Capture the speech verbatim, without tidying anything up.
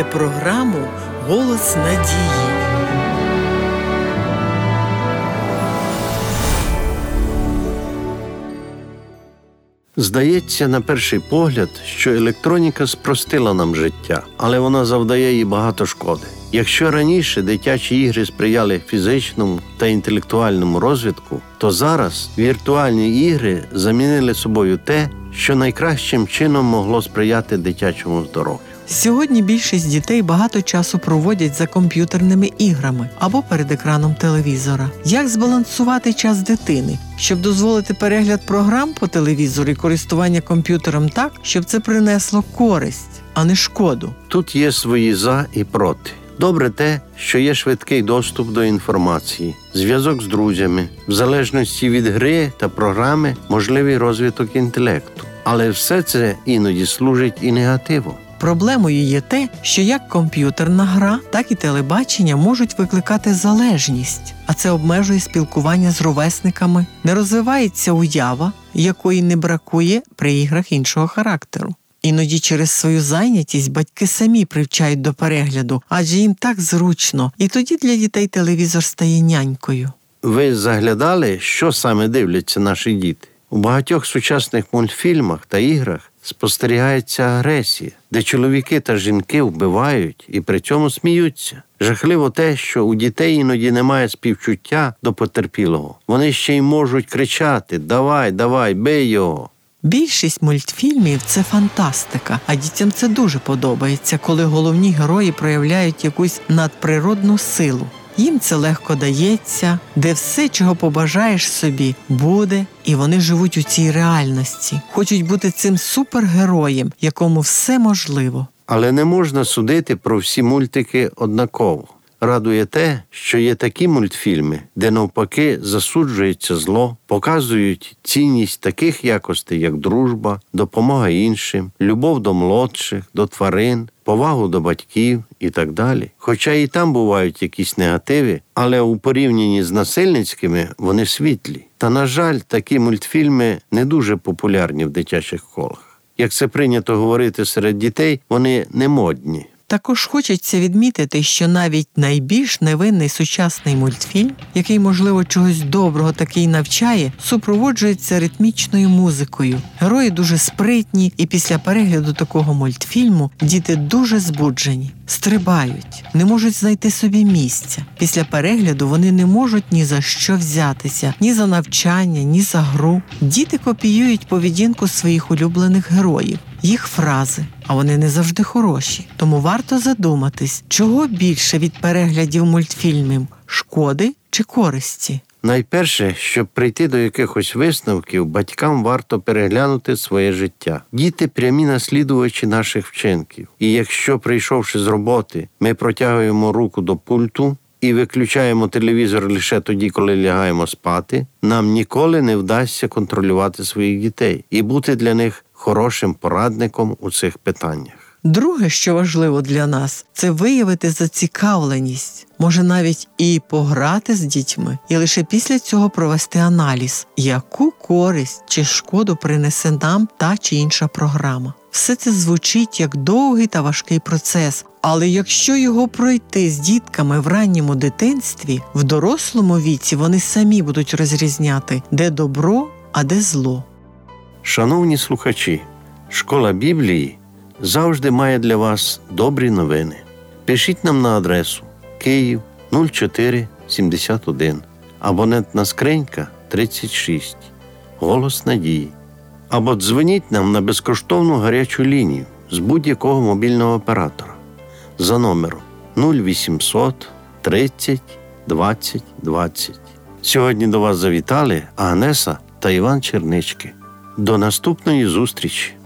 програму «Голос надії». Здається, на перший погляд, що електроніка спростила нам життя, але вона завдає їй багато шкоди. Якщо раніше дитячі ігри сприяли фізичному та інтелектуальному розвитку, то зараз віртуальні ігри замінили собою те, що найкращим чином могло сприяти дитячому здоров'ю. Сьогодні більшість дітей багато часу проводять за комп'ютерними іграми або перед екраном телевізора. Як збалансувати час дитини, щоб дозволити перегляд програм по телевізору і користування комп'ютером так, щоб це принесло користь, а не шкоду? Тут є свої «за» і «проти». Добре те, що є швидкий доступ до інформації, зв'язок з друзями, в залежності від гри та програми можливий розвиток інтелекту. Але все це іноді служить і негативом. Проблемою є те, що як комп'ютерна гра, так і телебачення можуть викликати залежність, а це обмежує спілкування з ровесниками, не розвивається уява, якої не бракує при іграх іншого характеру. Іноді через свою зайнятість батьки самі привчають до перегляду, адже їм так зручно, і тоді для дітей телевізор стає нянькою. Ви заглядали, що саме дивляться наші діти? У багатьох сучасних мультфільмах та іграх спостерігається агресія, де чоловіки та жінки вбивають і при цьому сміються. Жахливо те, що у дітей іноді немає співчуття до потерпілого. Вони ще й можуть кричати «давай, давай, бий його». Більшість мультфільмів – це фантастика, а дітям це дуже подобається, коли головні герої проявляють якусь надприродну силу. Їм це легко дається, де все, чого побажаєш собі, буде, і вони живуть у цій реальності. Хочуть бути цим супергероєм, якому все можливо. Але не можна судити про всі мультики однаково. Радує те, що є такі мультфільми, де навпаки засуджується зло, показують цінність таких якостей, як дружба, допомога іншим, любов до молодших, до тварин, повагу до батьків і так далі. Хоча і там бувають якісь негативи, але у порівнянні з насильницькими вони світлі. Та, на жаль, такі мультфільми не дуже популярні в дитячих колах. Як це прийнято говорити серед дітей, вони не модні. Також хочеться відмітити, що навіть найбільш невинний сучасний мультфільм, який, можливо, чогось доброго таки й навчає, супроводжується ритмічною музикою. Герої дуже спритні, і після перегляду такого мультфільму діти дуже збуджені, стрибають, не можуть знайти собі місця. Після перегляду вони не можуть ні за що взятися, ні за навчання, ні за гру. Діти копіюють поведінку своїх улюблених героїв, їх фрази, а вони не завжди хороші. Тому варто задуматись, чого більше від переглядів мультфільмів – шкоди чи користі? Найперше, щоб прийти до якихось висновків, батькам варто переглянути своє життя. Діти – прямі наслідувачі наших вчинків. І якщо, прийшовши з роботи, ми протягуємо руку до пульту і виключаємо телевізор лише тоді, коли лягаємо спати, нам ніколи не вдасться контролювати своїх дітей і бути для них хорошим порадником у цих питаннях. Друге, що важливо для нас, це виявити зацікавленість, може навіть і пограти з дітьми, і лише після цього провести аналіз, яку користь чи шкоду принесе нам та чи інша програма. Все це звучить як довгий та важкий процес, але якщо його пройти з дітками в ранньому дитинстві, в дорослому віці вони самі будуть розрізняти, де добро, а де зло. Шановні слухачі, Школа Біблії завжди має для вас добрі новини. Пишіть нам на адресу Київ нуль чотири сімдесят один, абонентна скринька тридцять шість, Голос надії. Або дзвоніть нам на безкоштовну гарячу лінію з будь-якого мобільного оператора за номером нуль вісімсот тридцять двадцять двадцять. Сьогодні до вас завітали Агнеса та Іван Чернички. До наступної зустрічі!